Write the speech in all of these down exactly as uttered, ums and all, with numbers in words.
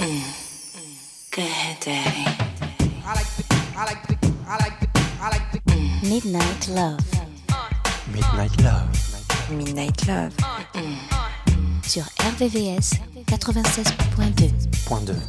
Go ahead, Daddy. I like the, I like the, I like the, I like the mm. Midnight Love. Midnight Love. Midnight Love. Mm. Sur R V V S quatre-vingt-seize point deux. Point deux.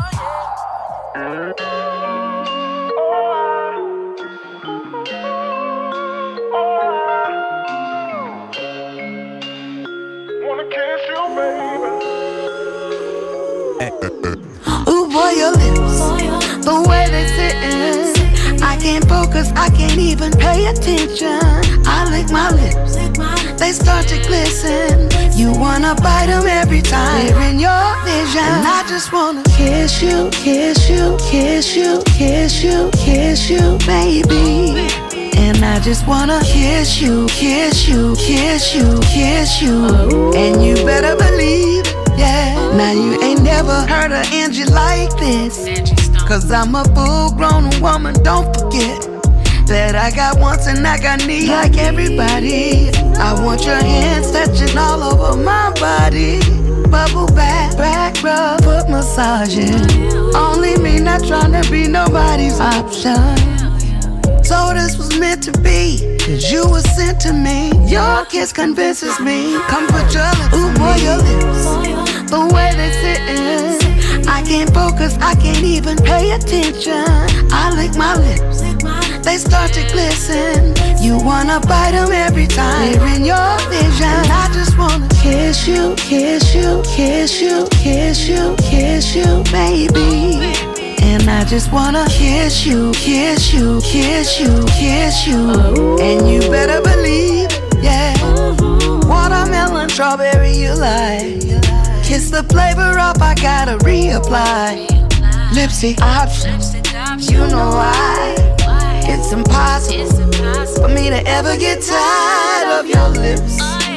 Ooh boy, your lips, the way they sittin', I can't focus, I can't even pay attention. I lick my lips, they start to glisten. You wanna bite them every time they're in your vision. And I just wanna kiss you, kiss you, kiss you, kiss you, kiss you, baby. And I just wanna kiss you, kiss you, kiss you, kiss you. And you better believe it, yeah. Now you ain't never heard of Angie like this, cause I'm a full-grown woman, don't forget that I got wants and I got needs like everybody. I want your hands touching all over my body. Bubble bath, back rub, foot massaging. Only me, not tryna be nobody's option. So this was meant to be, cause you were sent to me. Your kiss convinces me. Come put your lips Ooh, on boy, me. Your lips, the way they sittin', I can't focus, I can't even pay attention. I lick my lips, they start to glisten. You wanna bite them every time they're in your vision. And I just wanna kiss you, kiss you, kiss you, kiss you, kiss you, baby. And I just wanna kiss you, kiss you, kiss you, kiss you. And you better believe, yeah. Watermelon, strawberry, you like. Kiss the flavor up, I gotta reapply. Lipstick options, you know why. It's impossible for me to ever get tired of your lips.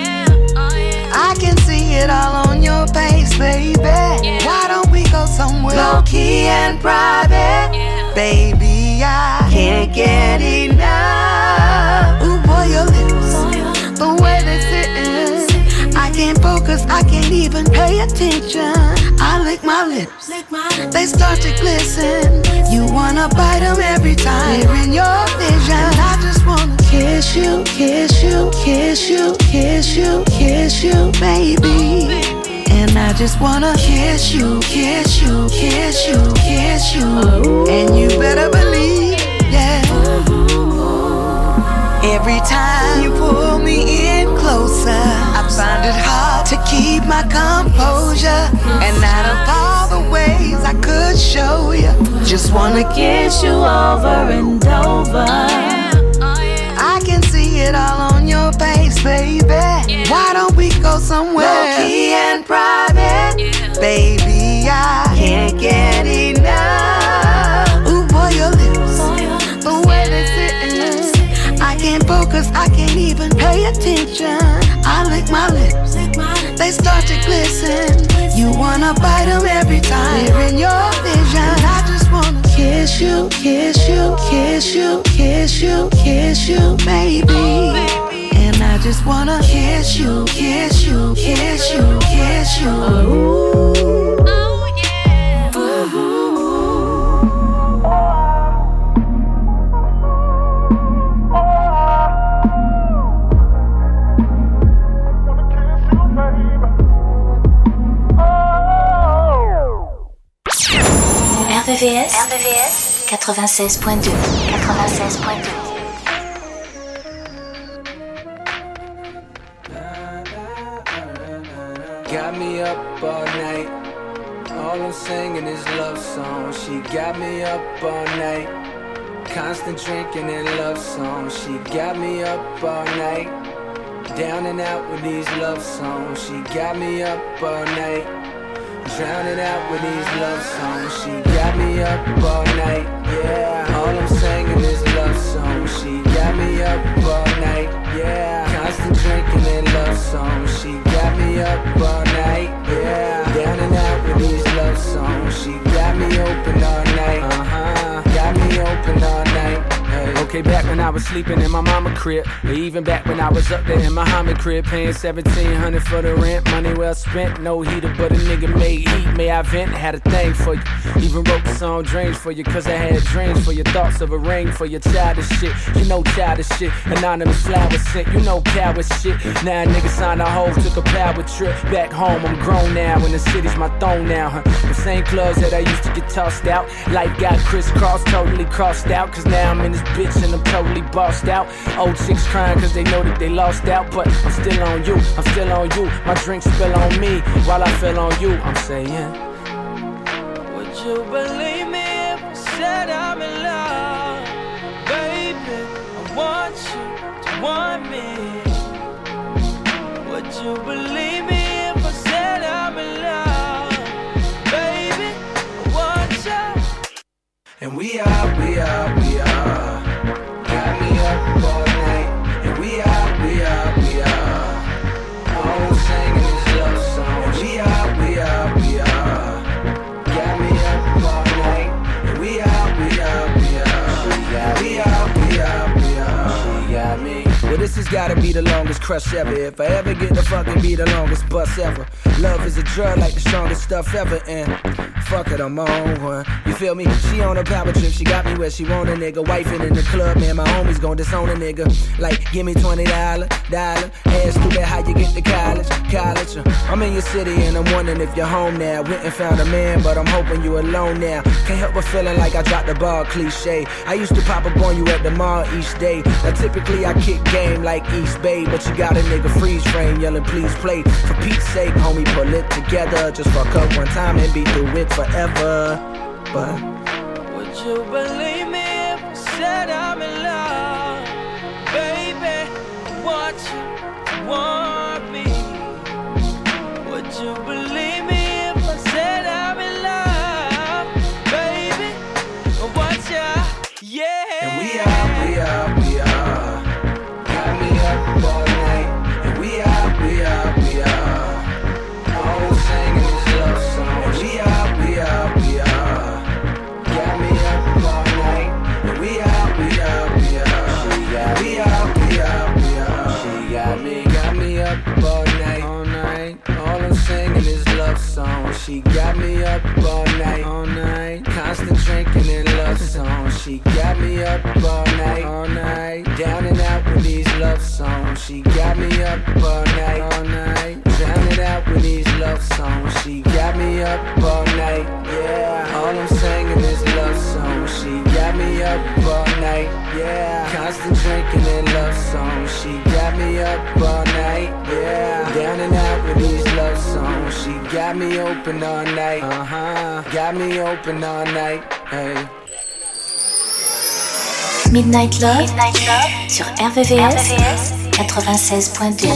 I can see it all on your face, baby. Why don't we go somewhere low-key and private? Baby, I can't get enough. Ooh, boy, your lips, the way they sittin', I can't focus, I can't even pay attention. I lick my lips, they start to glisten. You wanna bite them every time they're in your vision. I just wanna kiss you, kiss you, kiss you, kiss you, kiss you, baby. And I just wanna kiss you, kiss you, kiss you, kiss you. And you better believe, yeah. Every time you pull me in closer, I find it hard to keep my composure. And out of all the ways I could show you, just wanna kiss you over and over. I can see it all on your face, baby. Why don't we go somewhere low-key and private? Baby, I can't get enough. Ooh, boy, your lips, the way they sittin', I can't focus, I can't even pay attention. I lick my lips, they start to glisten. You wanna bite them every time they're in your vision. I just wanna kiss you, kiss you, kiss you, kiss you, kiss you, baby. And I just wanna kiss you, kiss you, kiss you, kiss you. Ooh. Oh yeah. Ooh. R V V S, R V V S quatre-vingt-seize point deux. quatre-vingt-seize point deux. Got me up all night. All I'm singing is love songs. She got me up all night. Constant drinking and love songs. She got me up all night. Down and out with these love songs. She got me up all night. Drowning out with these love songs. She got me up all night. Yeah. All I'm singing is love songs. She got me up all night. Yeah. Constant drinking and love songs. She got me up all night. Yeah. Down and out with these love songs. She got me open all night. Uh-huh. Got me open all night. Hey. Okay, back when I was sleeping in my mama crib, or even back when I was up there in Muhammad crib, paying seventeen hundred for the rent, money well spent, no heater, but a nigga made heat, made way I vent, had a thing for you. Even wrote the song Dreams for you, cause I had dreams for your thoughts of a ring for your childish shit. You know childish shit, anonymous flowers sent, you know coward shit. Now a nigga signed a hoe, took a power trip back home. I'm grown now, and the city's my throne now, huh? The same clubs that I used to get tossed out. Life got crisscrossed, totally crossed out. Cause now I'm in this bitch and I'm totally bossed out. Old chicks crying cause they know that they lost out. But I'm still on you, I'm still on you. My drink spill on me while I fell on you. I'm saying, would you believe me if I said I'm in love? Baby, I want you to want me. Would you believe me if I said I'm in love? Baby, I want you. and we are, we are, we are. Got me up all night. And we are, we are, we are. All singing this love song. And we are, we are, we are. Got me up all night. And we are, we are, we are. We are, we are, we are. She got me. Well, this has gotta be the longest crush ever. If I ever get to fucking be the longest bus ever. Love is a drug like the strongest stuff ever. And fuck it, I'm on one. You feel me? She on a power trip, she got me where she want a nigga. Wifing in the club, man, my homies gon' disown a nigga. Like, give me twenty dollars, dollar. Ask stupid how you get to college, college. Uh, I'm in your city and I'm wondering if you're home now. Went and found a man, but I'm hoping you alone now. Can't help but feeling like I dropped the ball, cliche. I used to pop up on you at the mall each day. Now typically I kick game like East Bay, but you got a nigga freeze frame yelling please play. For Pete's sake, homie, pull it together. Just fuck up one time and be through it forever. But would you believe me if I said I'm in love? Baby, I want you to want me. Would you believe me if I said I'm in love? Baby, I want you, yeah. And we are, we are, we are. Got me up all night. And we are, we are, we are. All singing this love song. And we are, we are, we are. Got me up all night. And we are, we are, we are. We are, we are, we are. She got me, got me up all night, all night. All I'm singing is love song. She got me up all night, all night. Constant drinking and love songs. She got me up all night, all night. Down and out with these love songs. She got me up all night, all night. Down and out with these love songs. She got me up all night, yeah. All I'm singing is love songs. She got me up all night, yeah. Constant drinking and love songs. She got me up all night, yeah. Down and out with these love songs. She got me open all night, uh-huh. Got me open all night, hey. Midnight Love, Midnight Love sur R V V S quatre-vingt-seize point deux.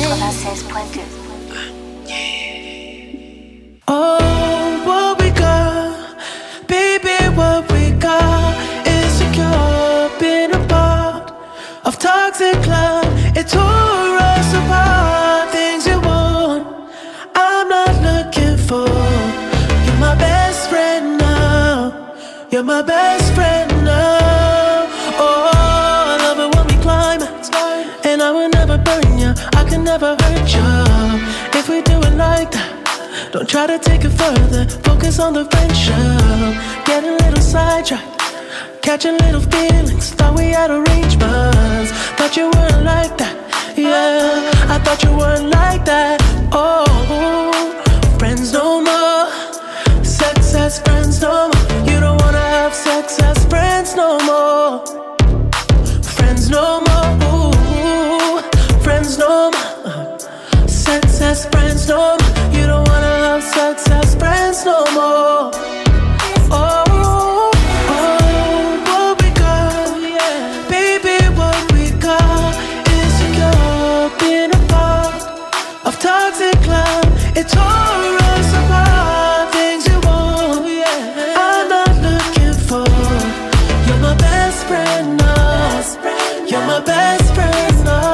Oh, what we got, baby, what we got is secure, been a part of toxic love. It tore us apart. Things you want, I'm not looking for. You're my best friend now. You're my best friend now. Oh, I love it when we climax, and I will never burn you. I can never hurt you if we do it like that. Don't try to take it further. Focus on the friendship. Get a little sidetracked, catching little feelings. Thought we had arrangements. Thought you weren't like that. Yeah, I thought you weren't like that. Oh, friends no more. Sex as friends no more. You don't wanna have sex as friends no more. Friends no more. Ooh, friends no more. Sex as friends no more. You don't wanna have sex as friends no more. Oh, oh, what we got, baby, what we got is secure, been a part of toxic love. It tore us apart. Things you want, I'm not looking for. You're my best friend now. You're my best friend now.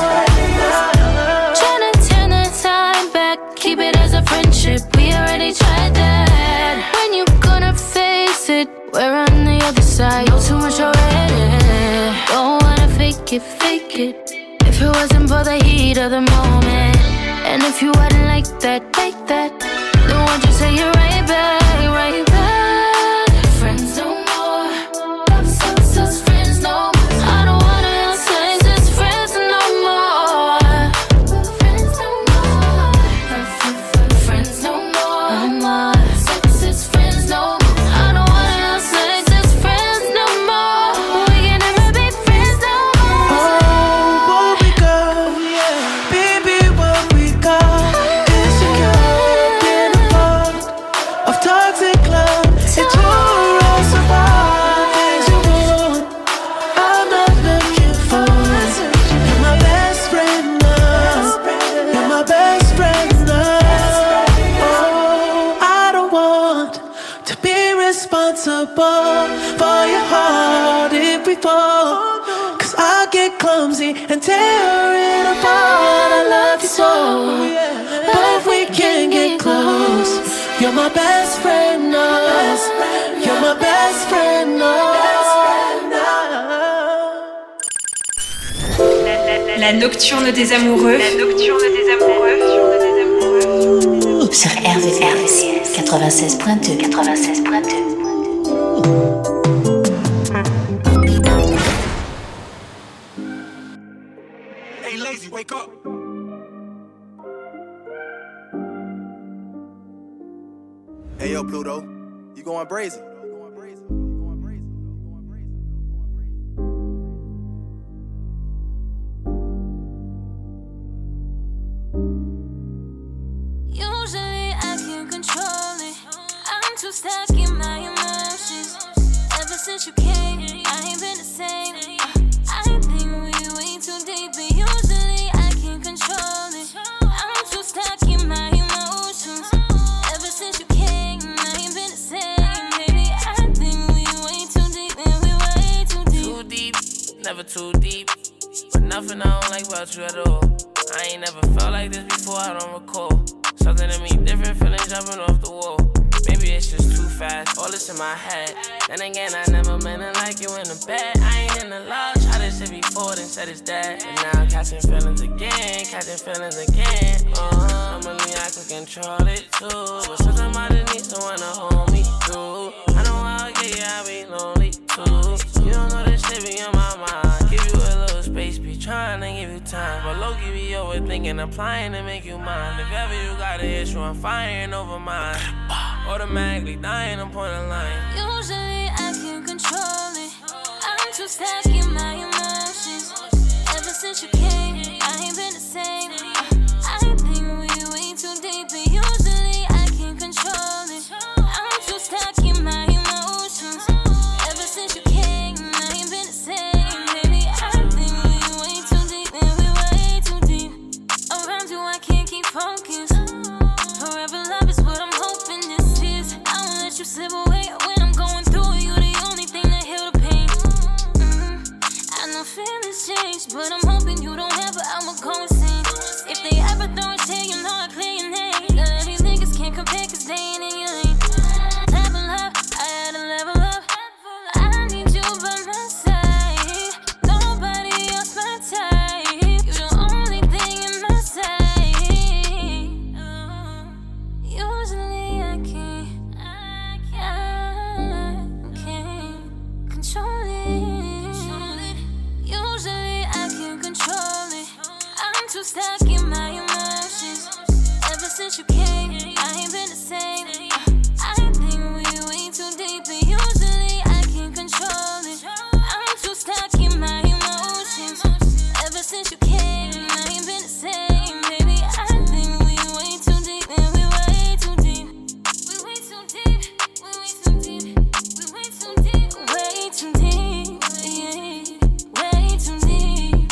Keep it as a friendship, we already tried that. When you gonna face it? We're on the other side, know too much already. Don't wanna fake it, fake it. If it wasn't for the heat of the moment, and if you hadn't like that, like that, then don't want you say you're right back, right back. Friends no more, sus, sus, friends no more. I don't wanna say just friends no more. Friends no more, friends no more. Sus, sus, friends no more. I don't wanna say just friends no more. We can never be friends no more. Oh, what we got, baby, what we got. Insecure, being a part of toxic love. It tore us apart. Things you want, I'm not looking for. You're my best friend now. You're my best friend now. Oh, I don't want to be responsible for your heart if we fall. Cause I get clumsy and tear it apart. I love you so, but if we can't get close, you're my best friend now. You're my best friend now. La nocturne des amoureux. La nocturne des amoureux. Sur R V V S quatre-vingt-seize point deux. quatre-vingt-seize point deux. Hey, lazy, wake up. Hey, yo, Pluto, you going brazen? Usually I can't control it. I'm too stuck in my emotions. Ever since you came, I ain't been the same. I think we way too deep, but usually I can't control it. I'm too stuck in my emotions. Ever since you came, I ain't been the same. Baby, I think we way too deep, and we way too deep. Too deep, never too deep. But nothing I don't like about you at all. I ain't never felt like this before, I don't recall. Something to me different, feelings jumping off the wall. Maybe it's just too fast, all this in my head. Then again, I never meant it like you in the bed. I ain't in the love, tried this shit before, then said it's dead. And now I'm catching feelings again, catching feelings again. Uh-huh, normally I could control it too, but sometimes I just need someone to hold me through. I know I'll get you, I'll be lonely too. You don't know this shit be on my mind. Give you a little space, be trying to give you time. But low-key be overthinking, applying to make you mine. If ever you got an issue, I'm firing over mine. Automatically dying, I'm point of line. Usually I can't control it. I'm too stuck in my emotions. Ever since you came, I ain't been the same. I think we way too deep, but usually I can't control it. I'm too stuck in my emotions. Ever since you came, I ain't been the same. Baby, I think we way too deep, and we way too deep. Around you, I can't keep focused. Forever love is what I'm hoping this is. I won't let you slip away when I'm going through. You the only thing that heal the pain. Mm-hmm. I know feelings change, but I'm hoping you don't ever. I'ma go insane. If they ever throw a shade, you know I clear your name. None of these niggas can't compare, cause they ain't in your lane. Level up, I had to level up. I need you by my side. Nobody else my type. You the only thing in my sight. Usually I can't, I can't control it. Usually I can't control it. I'm too stuck in my emotions. Ever since you came, I ain't been the same. I think we way too deep, but usually I can't control it. I'm too stuck in my emotions. Ever since you came, I ain't been the same. Baby, I think we way too deep, and we way too deep. We way too deep, we way too deep, we way too deep, way too deep, yeah, way too deep.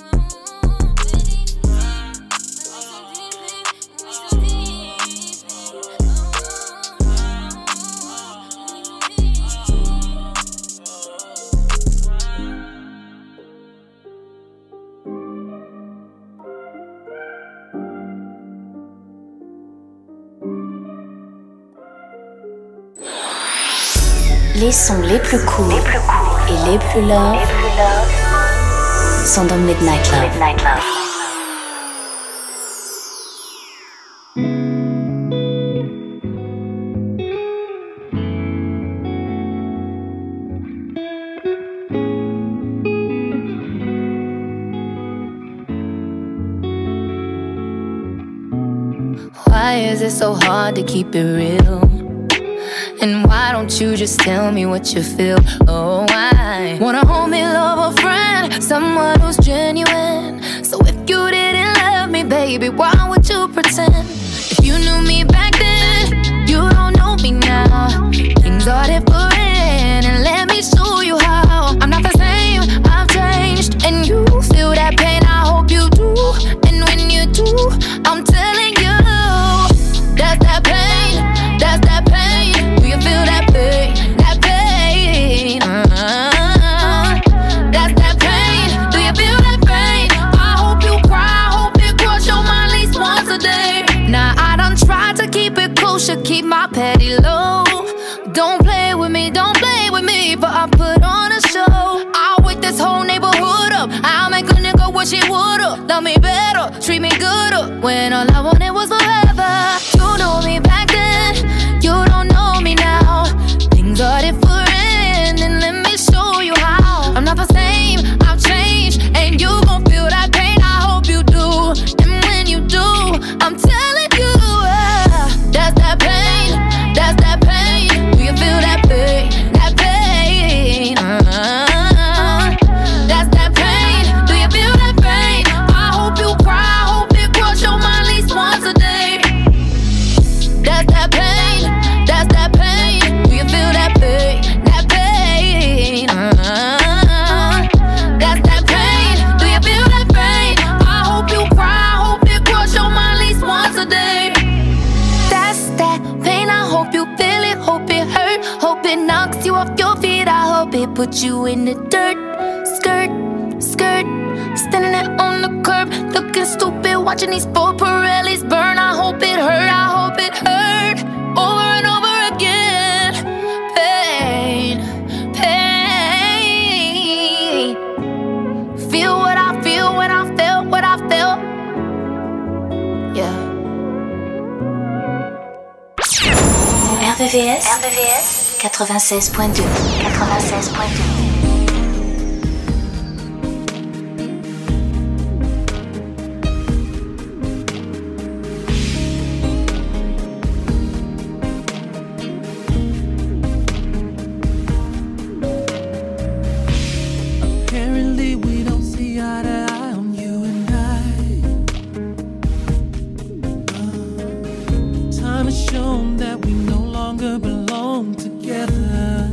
Les sons les plus courts et les plus love sont dans Midnight Love. Midnight Love. it so hard to keep it real? And why don't you just tell me what you feel? Oh, I wanna hold me, love a friend, someone who's genuine. So if you didn't love me, baby, why would you pretend? If you knew me back then, you don't know me now. Things are different, and let me show you how. I'm not the same, I've changed, and you feel that pain, I hope you do. And when you do, I'm telling you, that's that pain, that's that pain. Do you feel that pain, that pain? Uh-huh. That's that pain, do you feel that pain? I hope you cry, I hope it cross your mind at least once a day. Now I done tried to keep it kosher, keep my petty low. Don't play with me, don't play with me, but I put on a show. I'll wake this whole neighborhood up. I'll make a nigga wish he would've love me better, treat me gooder, when all I wanted was forever. You know me back then, you don't know me now. Things are different, and let me show you how. I'm not the same, I've changed, and you gon' feel that pain, I hope you do. And when you do, I'm telling you, uh, that's that pain, that's that pain. Do you feel that pain, that pain? Uh-huh. That's that pain, do you feel that pain? I hope you cry, I hope it cross your mind at least once a day. That's that pain, that's that pain. Do you feel that pain, that pain? Uh-huh. That's that pain, do you feel that pain? I hope you cry, I hope it cross your mind at least once a day. That's that pain, I hope you feel it, hope it hurt, hope it knocks you off your feet. I hope it puts you in the dirt. Skirt, skirt, standing there on the curb, looking stupid, watching these four Pirellis burn. I hope it hurt, I hope it hurt, over and over again. Pain, pain. Feel what I feel when I feel what I feel. Yeah. R V V S, R V V S quatre-vingt-seize point deux, quatre-vingt-seize point deux. Apparently we don't see eye to eye on you and I. uh, Time has shown that we no longer belong together.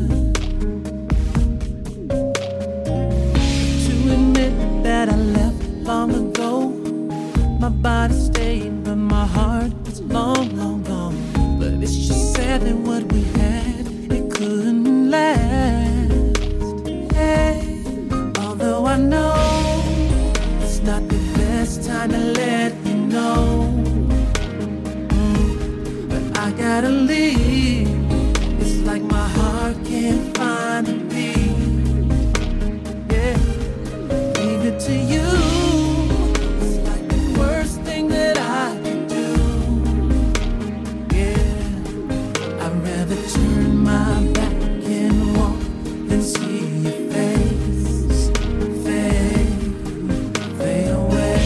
To admit that I left long ago, my body stayed but my heart was long, long gone. But it's just sad that what we had, it couldn't last. Hey. Although I know it's not the best time to let you know, mm, but I gotta leave. It's like my heart can't find a beat. Yeah, leave it to you. It's like the worst thing that I could do. Yeah, I'd rather turn my back and walk than see your face. Fade, fade away,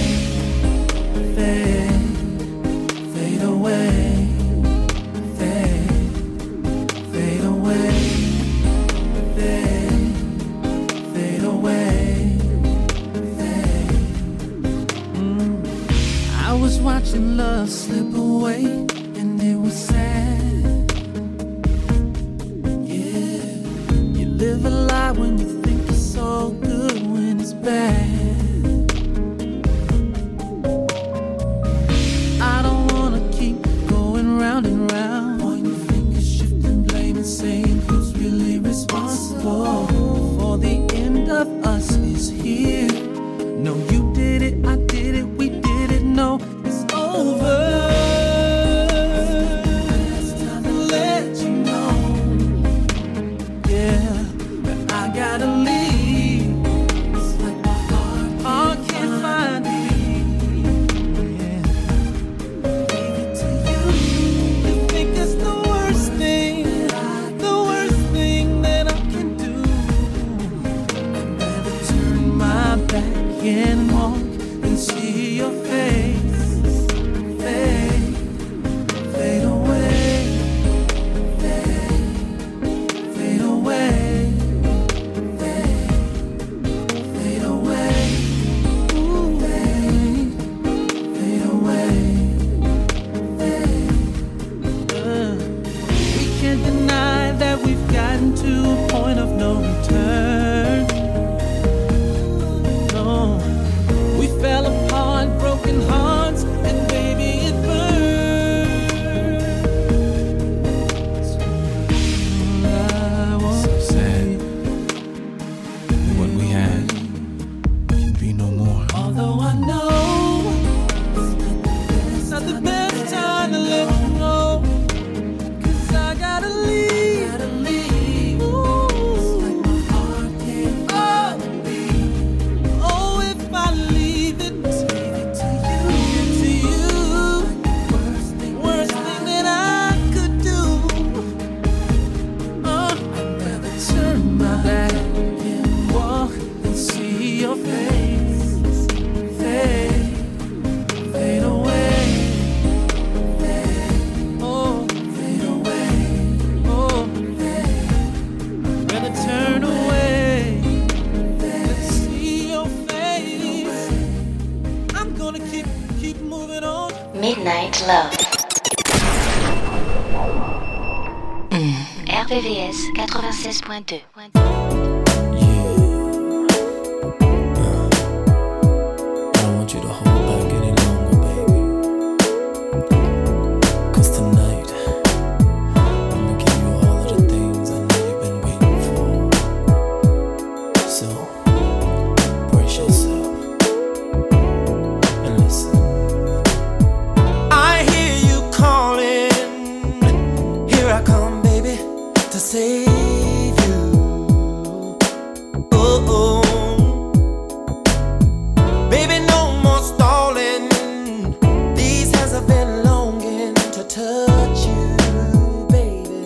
fade, fade away, fade, fade away, fade, fade away, fade. Mm. I was watching love slip away, and it was sad. can't deny that we've gotten to a point of no return. No, we fell apart, broken hearts, and baby it burns. I won't so sad that what we had can be no more. Although I know it's not the best time to let you know, 'cause I gotta leave, gotta leave. Ooh. It's like my heart can't oh. beat. Oh, if I leave it, leave it to you, to you, like the worst thing, worst thing that I could do. Uh, I'd rather turn my back and walk and see your face fade, fade away. Oh, fade away. Oh, rather turn away than see your face. I'm gonna keep, keep moving on. Midnight Love. R V V S quatre-vingt-seize point deux. I don't want you to hold back any longer, baby. 'Cause tonight, I'ma give you all of the things I know you've been waiting for. So, brace yourself and listen. I hear you calling. Here I come, baby, to save you. Oh, oh. Baby, no more stalling. These hands have been longing to touch you, baby.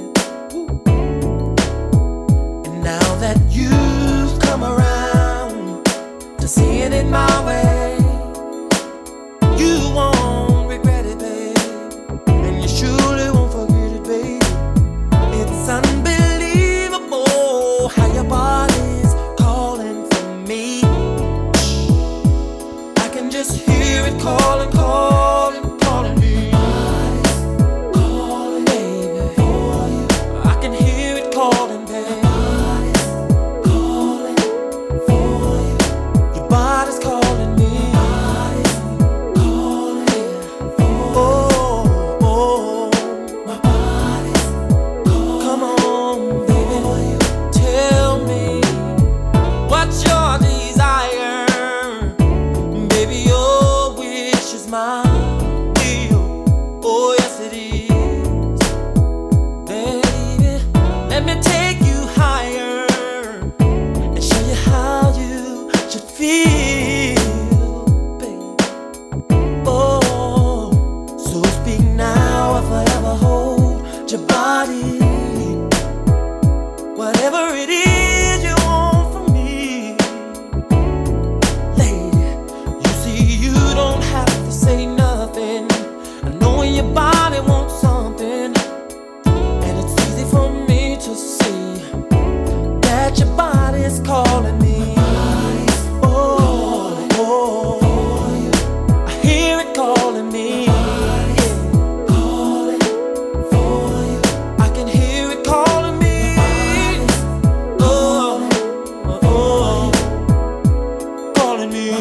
And now that you've come around to seeing it my way, you won't regret it, babe. And you surely won't forget it, babe. It's unbelievable how your body's calling for me. I can just hear it calling, calling, calling me. Calling, baby, for you. I can hear it calling, baby. Calling for you. Your body's calling me. Calling for oh, oh. My body's calling. Come on, baby, tell me what's your desire. Baby, your wish is my will. Oh, yes it is. Baby, let me take you higher and show you how you should feel, baby. Oh, so speak now or forever hold your body. Whatever it is you want from me, lady, you see you don't have to say nothing. I know when your body wants something, and it's easy for me to see that your body is calling me. Oh, oh, I hear it calling me. Calling for you. I can hear it calling me. Oh, oh, oh, calling me.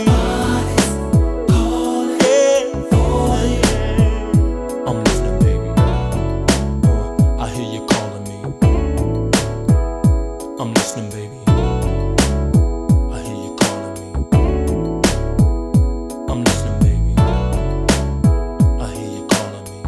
Yeah, for you. I'm listening, baby. I hear you calling me. I'm listening, baby. I hear you calling me. I'm listening, baby. I hear you calling me.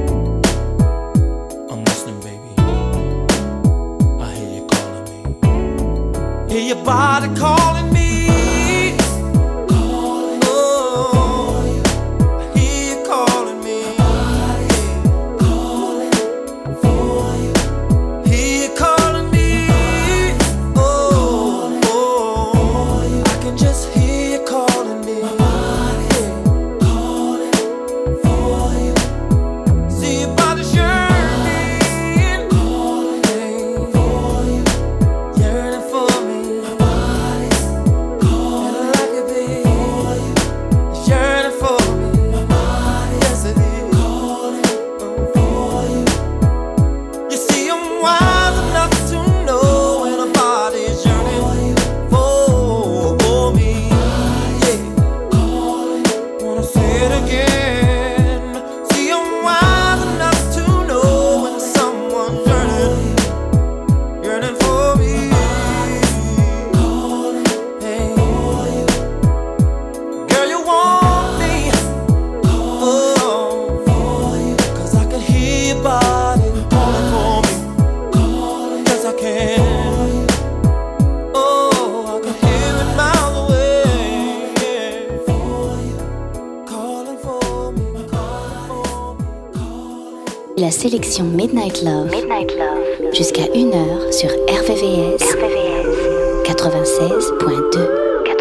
I'm listening, baby. I hear you calling me. Hear your body calling me. Calling oh, I hear you calling me. Calling for you. Hear you calling me. Oh, oh, I can just hear you calling me. Calling for you. See your body yearning. Calling for you. Yearning for me. sélection Midnight Love, Midnight Love. Jusqu'à une heure sur R V V S, R V V S quatre-vingt-seize point deux.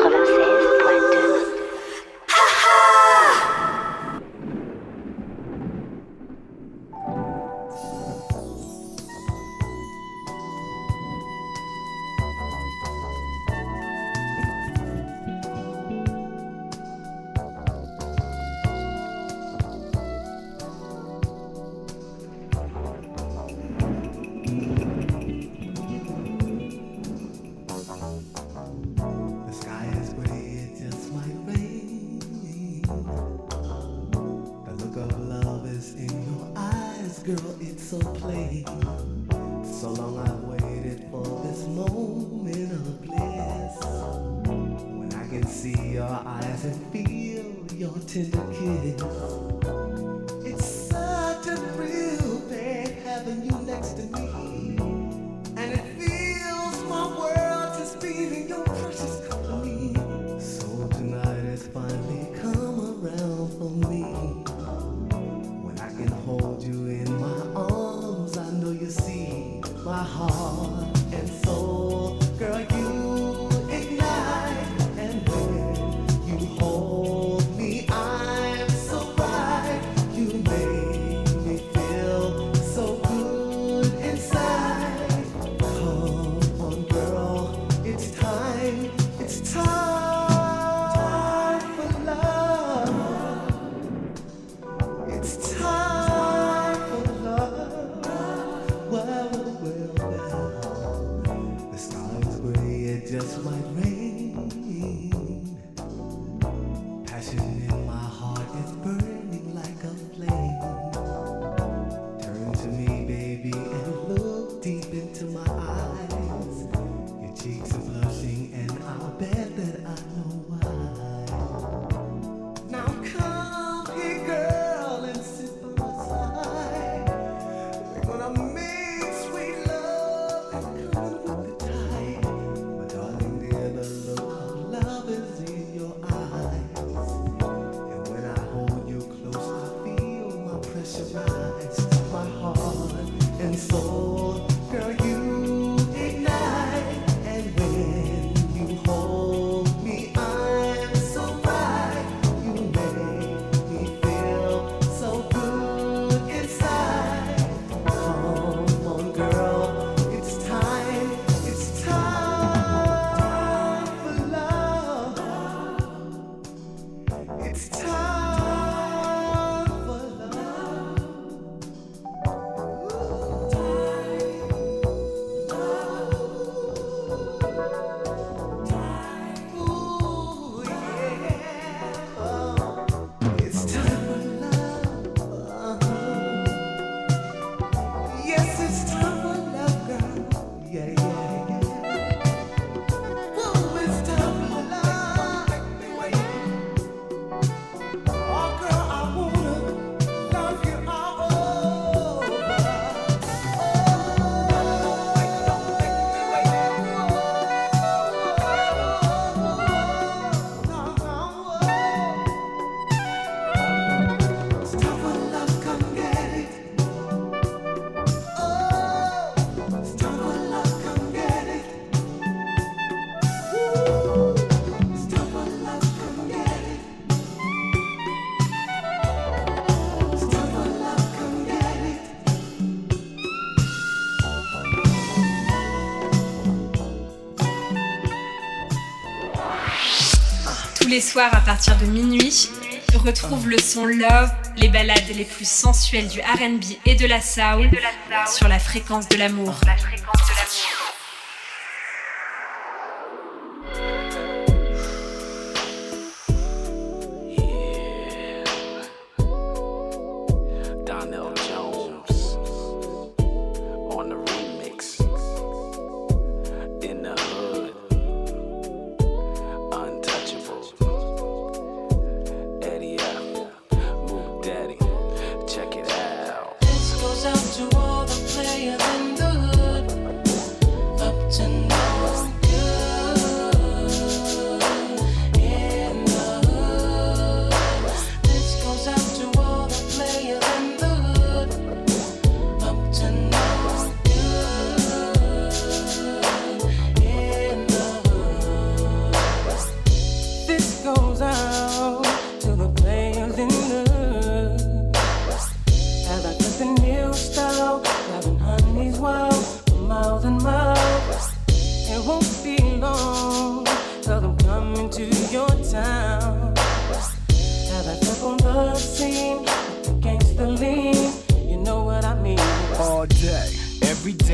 Tous les soirs à partir de minuit, retrouve le son Love, les ballades les plus sensuelles du R and B et de la soul sur la fréquence de l'amour. This goes out to all the players in the hood.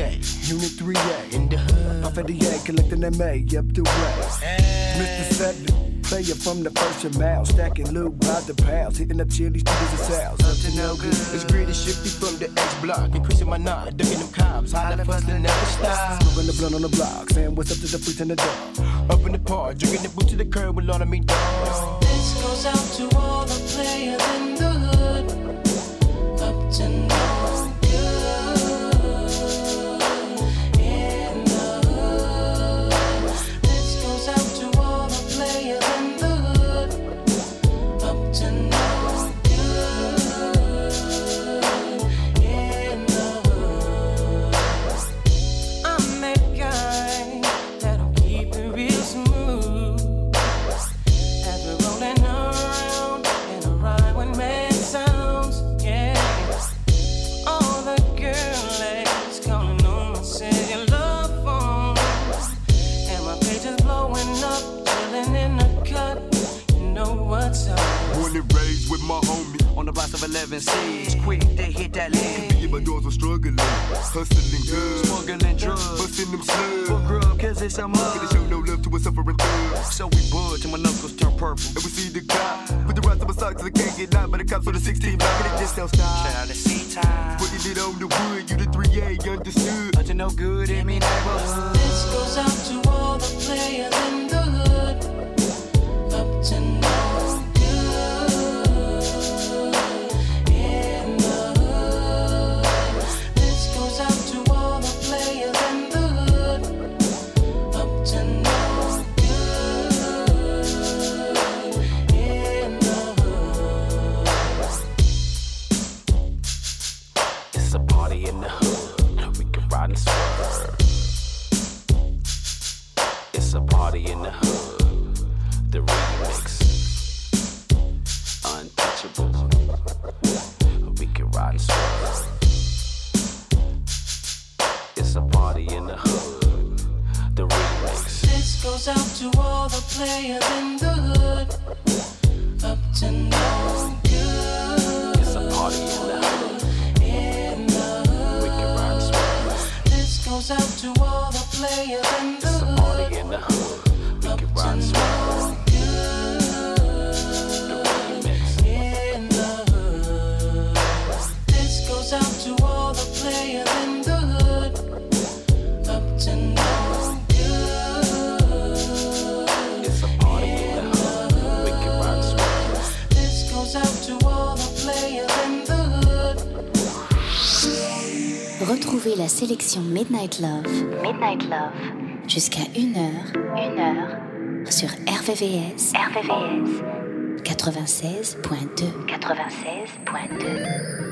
A, Unit three A, in the hood. Off of the A, collecting M A up the way. Hey. Mister Seven, player from the first and mile, stacking loot by the pounds, hitting up chili streets and sales. Up to no good. It's gritty, shifty from the X block, increasing my knot, ducking them cops, holla fast and never stop. Smoking the blunt on the block, saying what's up to the freaks in the door. Up in the park, drinking the boot to the curb with all of me dogs. This goes out to all the players in the hood, up to no good. In the hood. This goes out to all the players in the hood, up to no good. In the hood. I'm that guy that'll keep it real smooth. As we're rolling around in a ride when man sounds, yeah. All the girl ladies calling on my cellular phone, and my page is blowing up, chilling in the cut. You know what's up. Born and raised with my homie On the blocks of eleven C's, quick they hit that Me lead. and my dogs were struggling, hustling good, Smuggling drugs, busting them slugs. for grub, cause it's a mug. Gonna show no love to a suffering thug. So we bud till my knuckles turn purple. And we see the cop with the rest of my socks, I can't get knocked by the cops on the sixteen block, and it just don't stop. Shout out to C-Time. Putting it on the wood, you the three A, understood. Up to no good in me neighborhood. This goes out to all the players in the hood, up to no good. In the hood. This goes out to all the players in the hood, up to no good. In the hood. It's a party in the hood. We can ride and swerve. It's a party in the hood. The remix. Untouchable. We can ride and swerve. It's a party in the hood. The remix. This goes out to all the players in the hood, up to no good. It's a party in the hood. In the hood. We can ride and swerve. This goes out to all the players in the It's a hood, party in the hood. We up can to ride and swerve. no good. The remix. In the hood. This goes out to all the players in the hood, up to no good. It's a party in the hood. We can ride and swerve. This goes out to all the players in the hood. Retrouvez la sélection Midnight Love, Midnight Love, jusqu'à une heure, une heure, sur R V V S, R V V S, quatre-vingt-seize point deux, quatre-vingt-seize point deux.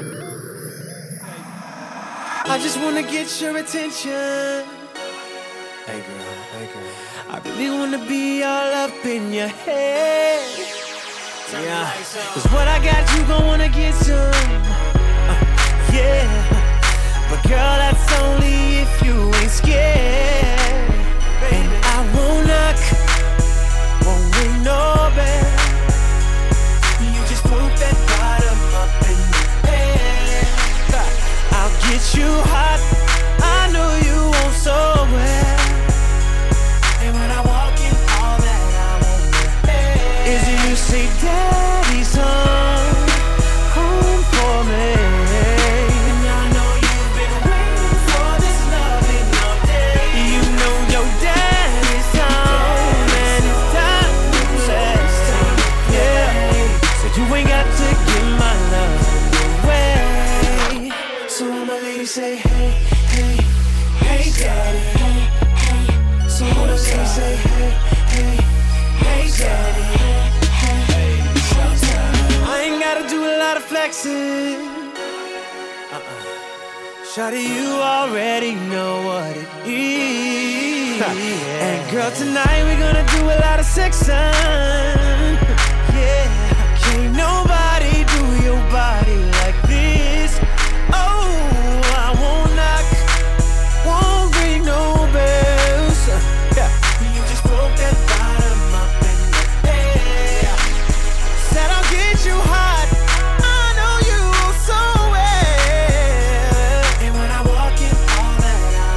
I just wanna get your attention. Hey girl, hey girl. I really wanna be all up in your head. Yeah, cause what I got, you gon' wanna get some. Uh, yeah, but girl, that's only if you ain't scared. And I won't knock, won't ring no bell. You just poke that bottom up in the head. I'll get you hot, I know you want so well. And when I walk in, all that I want is you say, Daddy's home, home for me. And I know you've been waiting for this loving all day. You know your daddy's home, and it's time to play. Yeah, so you ain't got to give my love away. So all my ladies say, hey, hey, hey, daddy. Hey, hey. So all the ladies say, hey, hey, hey, daddy. Hey, hey, hey. I ain't gotta do a lot of flexing. Uh-uh. Shawty, you already know what it is. Yeah. And girl, tonight we're gonna do a lot of sexing. Yeah, can't nobody do your body like this. Oh, I won't knock, won't ring no bells. Yeah. You just broke that bottom up in the air. Said I'll get you hot, I know you so well. And when I walk in, all that I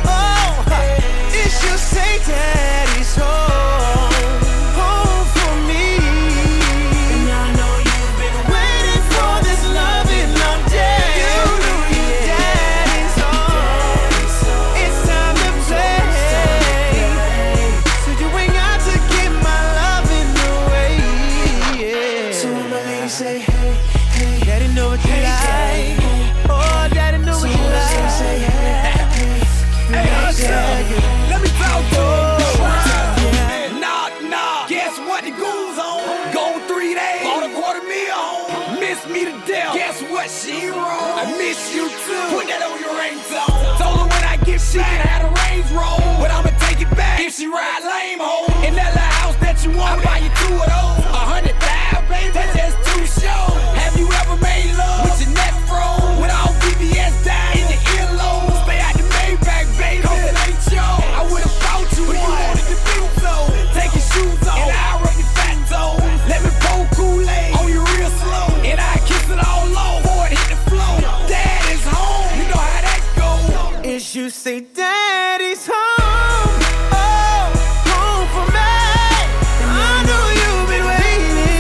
but she wrong. I miss you too. Put that on your ringtone. Told her when I get she can have the Range Roll, but I'ma take it back if she ride lame home. In that little house that you want, I buy you two of those. A hundred thousand, baby, that's just two shows. Have you ever made love with your neck froze? With all B B S down in your earlobe? Stay out the Maybach, baby, cause it ain't yours. I would've bought you but one, you wanted to do so. Take your shoes off, and I'll rub your fat toes. Let me pour Kool-Aid on you real slow, and I kiss it all low before it hit the floor. Dad is home, you know how that goes. Is you say daddy's home, oh, home for me. I know you've been waiting.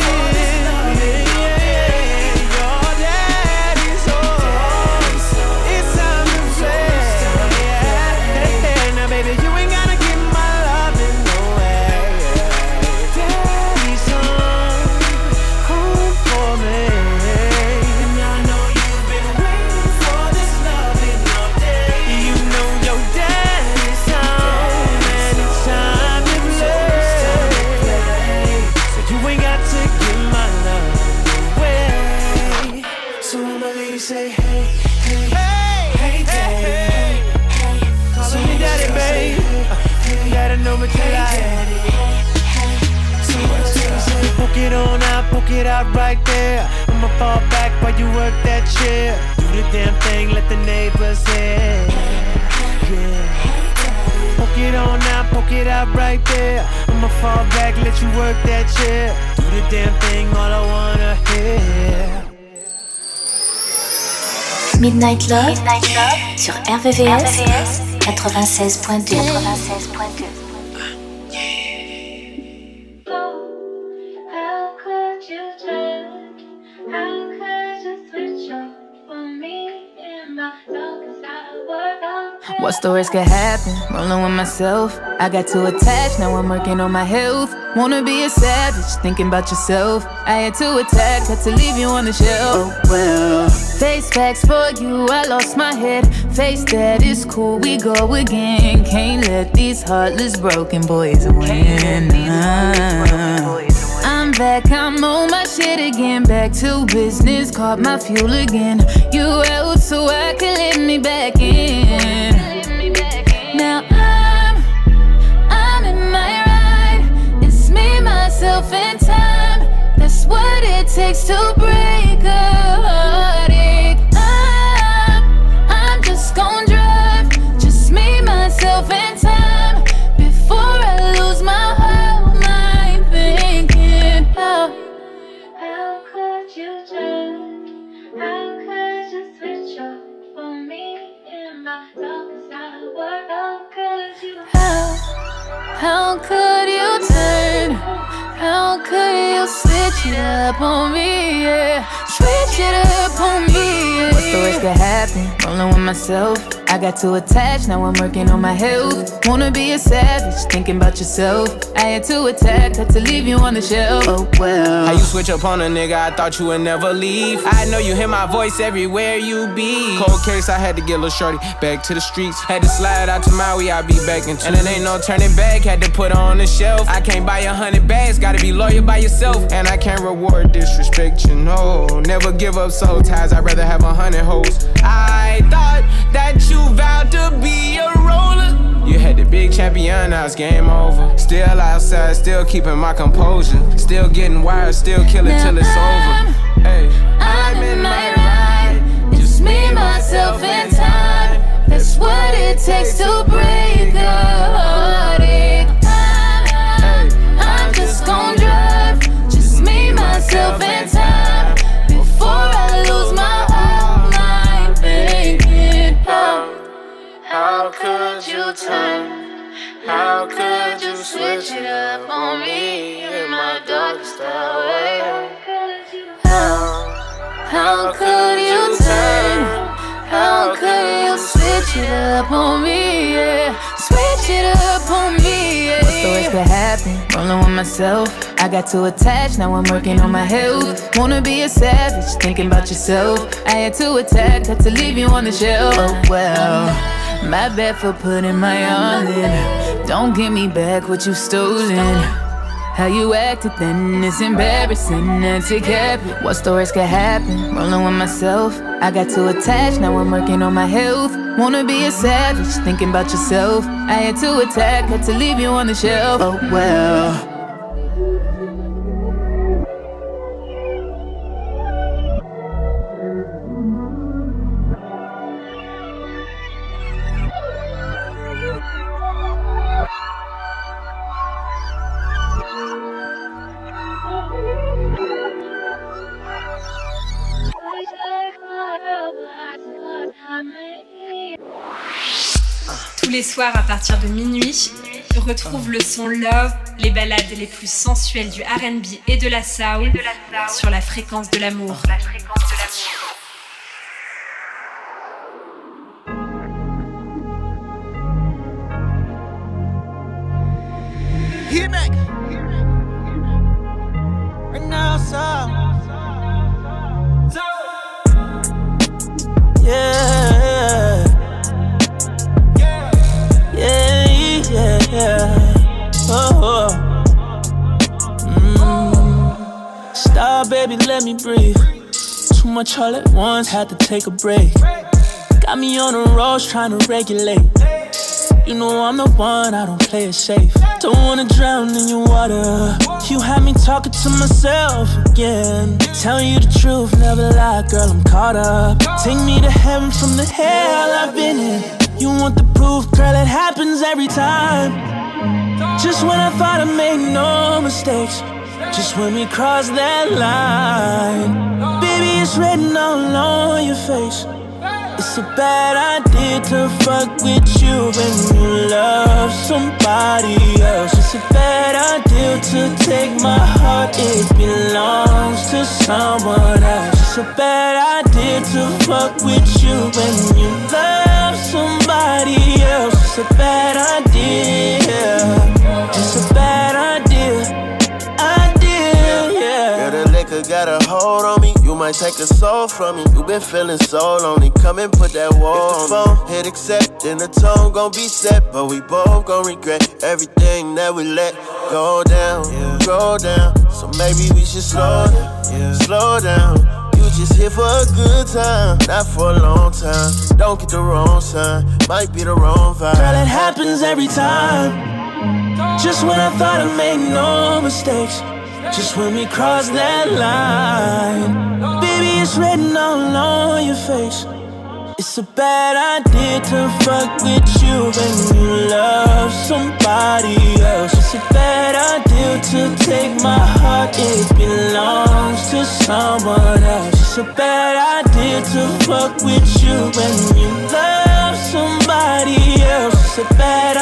Yeah, your daddy's home. It's time to play. Yeah. Now, baby, you ain't gotta give my love in no way. Daddy's home, home for me. And I know you've been waiting for this loving all day. You know your daddy's home, and it's time to play. So you ain't got to give my love away. So when my lady say, hey, hey, hey, daddy, call me daddy, babe. You gotta know what you like. So when my lady say, poke it on out, poke it out right there. I'ma fall back while you work that chair. Do the damn thing, let the neighbors hear. Yeah. Poke it on out, poke it out right there. I'ma fall back, let you work that chair. Do the damn thing, all I wanna hear. Midnight Love, Midnight Love sur R V V S quatre-vingt-seize point deux. quatre-vingt-seize point deux. How could you turn? How could you switch up for me in my darkest hour? What's the worst could happen? Rolling with myself. I got too attached, now I'm working on my health. Wanna be a savage, thinking about yourself. I had to attack, had to leave you on the shelf. Oh well. Face facts for you, I lost my head. Face that, it's cool, we go again. Can't let these heartless broken boys win. I'm back, I'm on my shit again. Back to business, caught my fuel again. You out so I can let me back in. Now I'm, I'm in my ride. It's me, myself, and time. That's what it takes to break a heartache. I'm, I'm just gon' drive. Just me, myself, and time. Before I lose my whole mind thinking, how, How could you turn? How could you switch up for me in my darkest hour? How could you? how, how could you turn? How could you switch it up on me, yeah? Switch it up on me, yeah. What's the worst could happen? Rolling with myself. I got too attached, now I'm working on my health. Wanna be a savage, thinking about yourself. I had to attack, had to leave you on the shelf. Oh well. How you switch up on a nigga, I thought you would never leave. I know you hear my voice everywhere you be. Cold case, I had to get a little shorty back to the streets. Had to slide out to Maui, I be back in two. And it ain't no turning back, had to put her on the shelf. I can't buy a hundred bags, gotta be loyal by yourself. And I can't reward disrespect, you know. Never give up soul ties, I'd rather have a hundred hoes. I thought that you vowed to be a roller. You had the big champion, now it's game over. Still outside, still keeping my composure. Still getting wired, still killing till it's over. Hey, I'm in my ride. Just me, myself, and time. That's what it takes to break a heartache. I'm, I'm just gon' drive. Just me, myself, and time. Before I lose my whole mind thinking, how, how could you turn? How could you switch it up on me in my darkest hour? How, how could you turn? How could you switch it up on me, yeah? Switch it up on me, yeah. What's the worst could happen? Rolling with myself. I got too attached, now I'm working on my health. Wanna be a savage, thinking about yourself. I had to attack, had to leave you on the shelf. Oh well, my bad for putting my all in. Don't give me back what you stolen. How you acted then, it's embarrassing. That's it kept. What stories could happen? Rolling with myself. I got too attached, now I'm working on my health. Wanna be a savage, thinking about yourself. I had to attack, had to leave you on the shelf. Oh well. Tous les soirs à partir de minuit, retrouve le son Love, les ballades les plus sensuelles du R and B et de la soul sur la fréquence de l'amour. Hear me. Right now, so. Yeah. Yeah, yeah, yeah. Oh, mm. Stop, baby, let me breathe. Too much all at once, had to take a break. Got me on the roads trying to regulate. You know I'm the one, I don't play it safe. Don't wanna drown in your water. You had me talking to myself again. Telling you the truth, never lie, girl, I'm caught up. Take me to heaven from the hell I've been in. You want the proof, girl, it happens every time. Just when I thought I made no mistakes, just when we crossed that line, baby, it's written all on your face. It's a bad idea to fuck with you when you love somebody else. It's a bad idea to take my heart, it belongs to someone else. It's a bad idea to fuck with you when you love somebody else. It's a bad idea. It's a bad idea. Idea, yeah. Girl, the liquor got a hold on me. You might take a soul from me. You been feeling so lonely. Come and put that wall on me. If the phone hit accept, then the tone gon' be set. But we both gon' regret everything that we let go down, yeah. Go down. So maybe we should slow down, yeah. Slow down. You just here for a good time, not for a long time. Don't get the wrong sign, might be the wrong vibe. Girl, it happens every time. Just when I thought I made no mistakes, just when we crossed that line, baby, it's written all on your face. It's a bad idea to fuck with you when you love somebody else. It's a bad idea to take my heart, it belongs to someone else. It's a bad idea to fuck with you when you love somebody else. It's a bad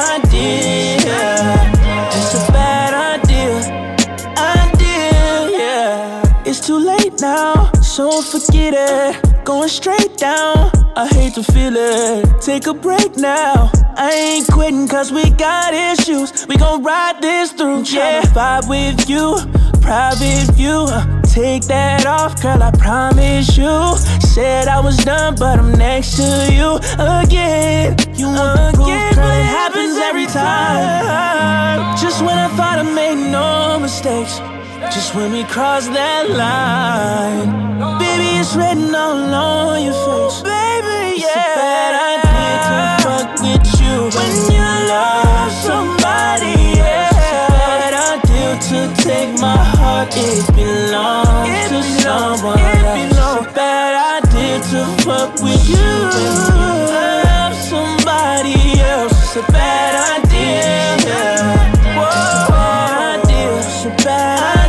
idea. It's a bad idea. Idea, yeah. It's too late now, so forget it. Going straight down, I hate to feel it. Take a break now, I ain't quitting cause we got issues. We gon' ride this through, yeah. Vibe with you, private view. Take that off, girl, I promise you. Said I was done, but I'm next to you again. You want the proof, girl, it happens every time. Just when I thought I made no mistakes, just when we crossed that line, baby, it's written all on your face. Baby, yeah. It's a bad idea to fuck with you when you love somebody else. It's a bad idea to take my heart, it belongs it to belongs, someone else. It's a bad idea to fuck with you when you love somebody else. It's a bad idea, yeah. Whoa, bad idea, it's a bad idea.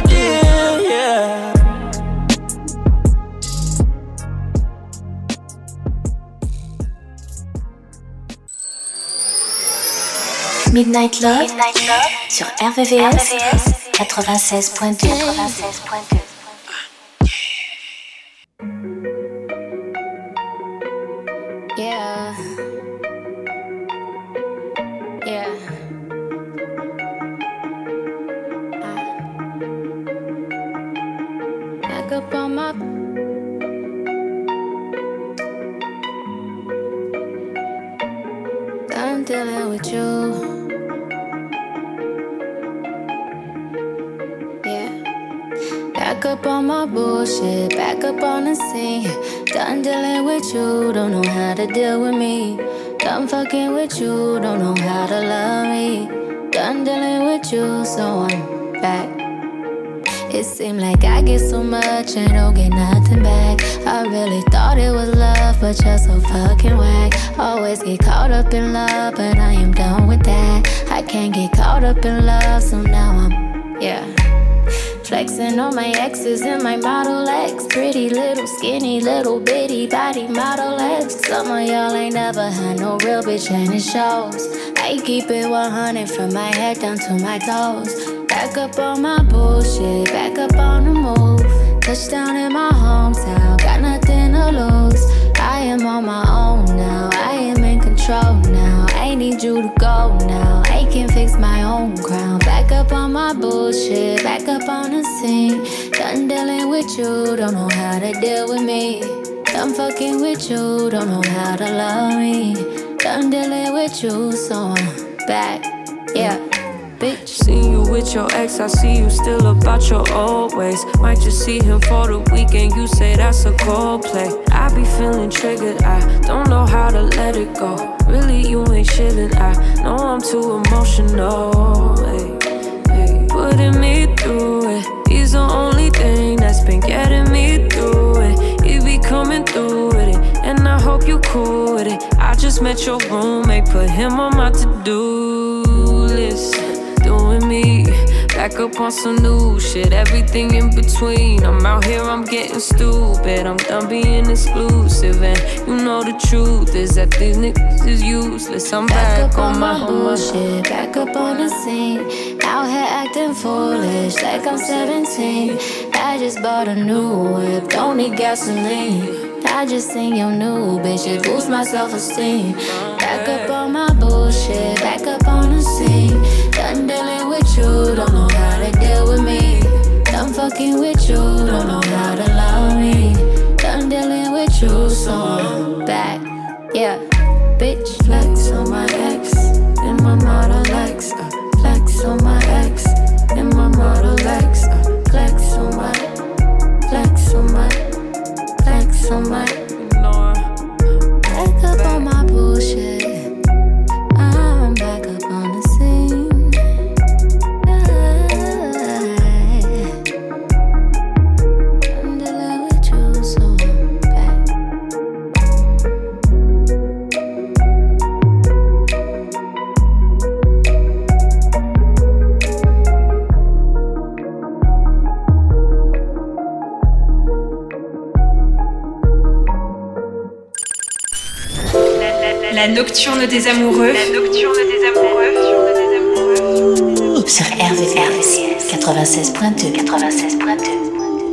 Midnight Love, Midnight Love sur R V V S quatre-vingt-seize point deux. quatre-vingt-seize point deux. Yeah. Yeah. I back up on my I'm dealing with you. Back up on my bullshit, back up on the scene. Done dealing with you, don't know how to deal with me. Done fucking with you, don't know how to love me. Done dealing with you, so I'm back. It seemed like I get so much and don't get nothing back. I really thought it was love, but you're so fucking whack. Always get caught up in love, but I am done with that. I can't get caught up in love, so now I'm, yeah. Flexing on my exes and my Model X. Pretty little skinny little bitty body Model X. Some of y'all ain't never had no real bitch and it shows. I keep it one hundred from my head down to my toes. Back up on my bullshit, back up on the move. Touchdown in my hometown, got nothing to lose. I am on my own now, I am in control now. I need you to go now, I can fix my own crown. Back up on my bullshit, back up on the scene. Done dealing with you, don't know how to deal with me. Done fucking with you, don't know how to love me. Done dealing with you, so I'm back, yeah. Bitch. See you with your ex, I see you still about your old ways. Might just see him for the weekend, you say that's a goal play. I be feeling triggered, I don't know how to let it go. Really, you ain't chillin', I know I'm too emotional. Hey, hey. Putting me through it, he's the only thing that's been getting me through it. He be coming through with it, and I hope you cool with it. I just met your roommate, put him on my to-do list. Doing me, back up on some new shit, everything in between. I'm out here, I'm getting stupid, I'm done being exclusive. And you know the truth is that these niggas is useless. I'm back, back up on, on my, my bullshit, back up on the scene. Out here acting foolish, like I'm seventeen. I just bought a new whip, don't need gasoline. I just seen your new bitch, it boosts my self-esteem. Back up on my bullshit, back up on the scene. Done dealing with you, don't know how to deal with me. Done fucking with you, don't know how to love me. Done dealing with you, so I'm back, yeah. Bitch, flex on my ex, in my Model X. uh, Flex on my ex, in my Model X. uh, Flex on my, flex on my, flex on my. Back up on my bullshit, I'm back up on the scene. I'm dealing with you, so I'm back. La nocturne des amoureux. La nocturne des amoureux. Sur R V V S quatre-vingt-seize point deux. quatre-vingt-seize point deux.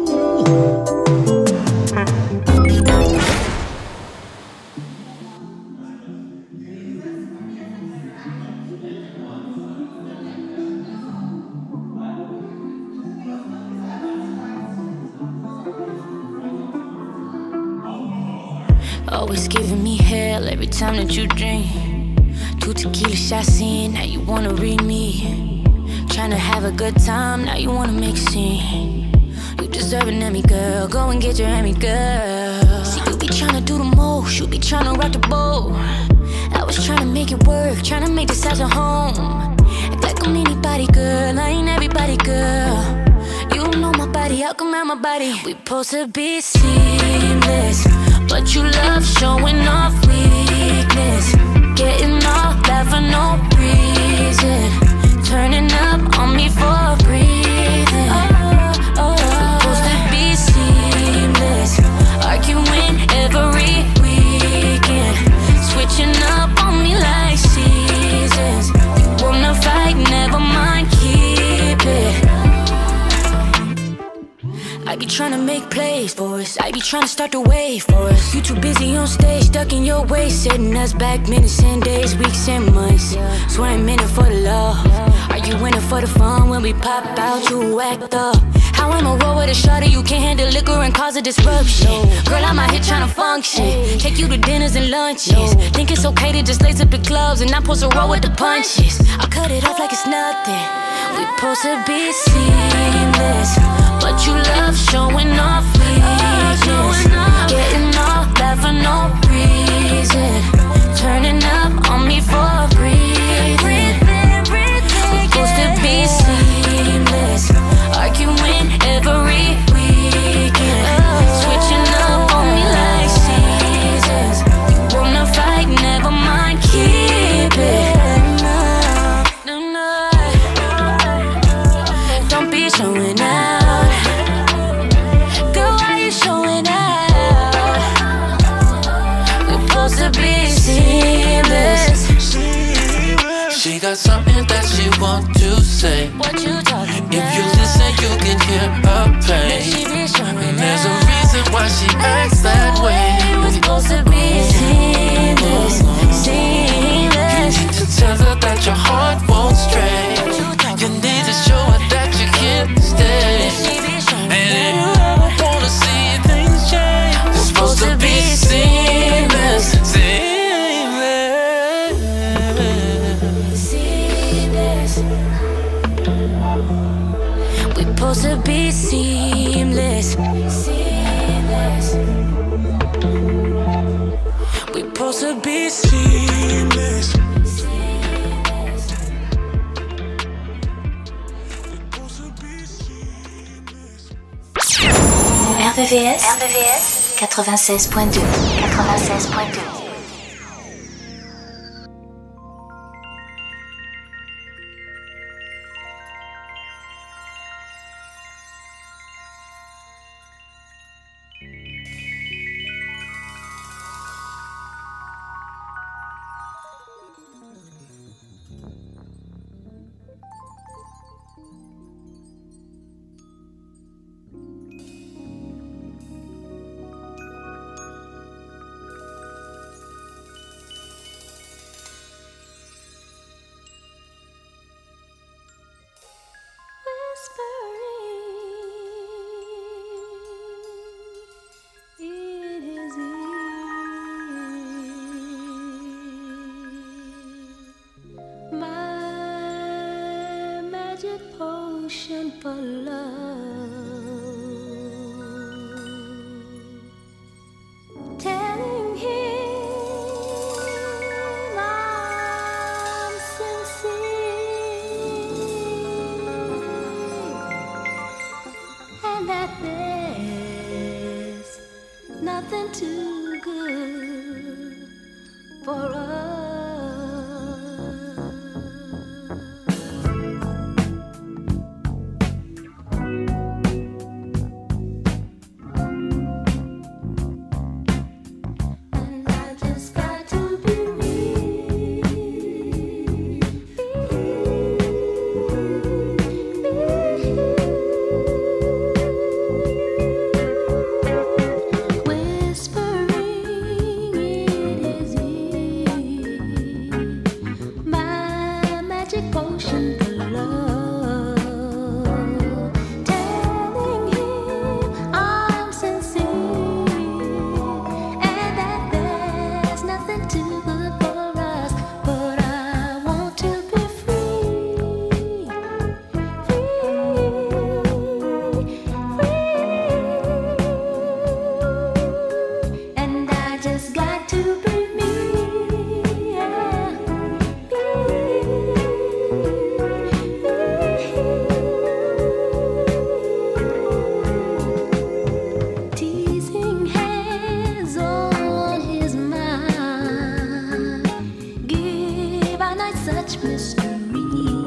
Always giving me hell every time that you drink. Two tequila shots in, now you wanna read me. Tryna have a good time, now you wanna make a scene. You deserve an Emmy, girl, go and get your Emmy, girl. See, you be tryna do the most, you be tryna rock the boat. I was tryna make it work, tryna make this house a home. Act like I'm anybody, girl, I ain't everybody, girl. You know my body, how come I'm my body? We supposed to be seamless, but you love showing off weakness. Getting off that for no reason. Turning up on me for a breathing. Oh, oh, oh. Supposed to be seamless, arguing every weekend. Switching up on me like seasons. You wanna fight, never mind, keep it. I be tryna make plays for us, I be tryna start the wave for us. You too busy on stage, stuck in your ways, setting us back minutes and days, weeks and months. So I ain't in it for the love. Are you in it for the fun with when we pop out, you act up. How I'ma roll with a shorty, you can't handle liquor and cause a disruption. Girl, I'm out here tryna function, take you to dinners and lunches. Think it's okay to just lace up the clubs and not supposed to roll with the punches. I cut it off like it's nothing. We supposed to be seamless, but you love showing off weakness. Getting all that for no reason, turning up on me for a breathing. We supposed to be seamless, arguing every weekend, switching up on me like seasons. You wanna fight, never mind, keep it. No, no, don't be showing out. Girl, why you showing out? We're supposed to be seamless. She got something that she want to say. What you talking about? If you listen, you can hear her pain. And there's a reason why she acts that way. We're supposed to be seamless, seamless. You need to tell her that your heart won't stray. You need to show her that you can't stay. And if you ever wanna see things change, we're supposed to be seamless, seamless. Supposed to be seamless, seamless. We supposed to be seamless. R V V S, R V V S quatre-vingt-seize point deux, quatre-vingt-seize point deux. For love, telling him I'm sincere, and that there's nothing too good for us. Such mystery.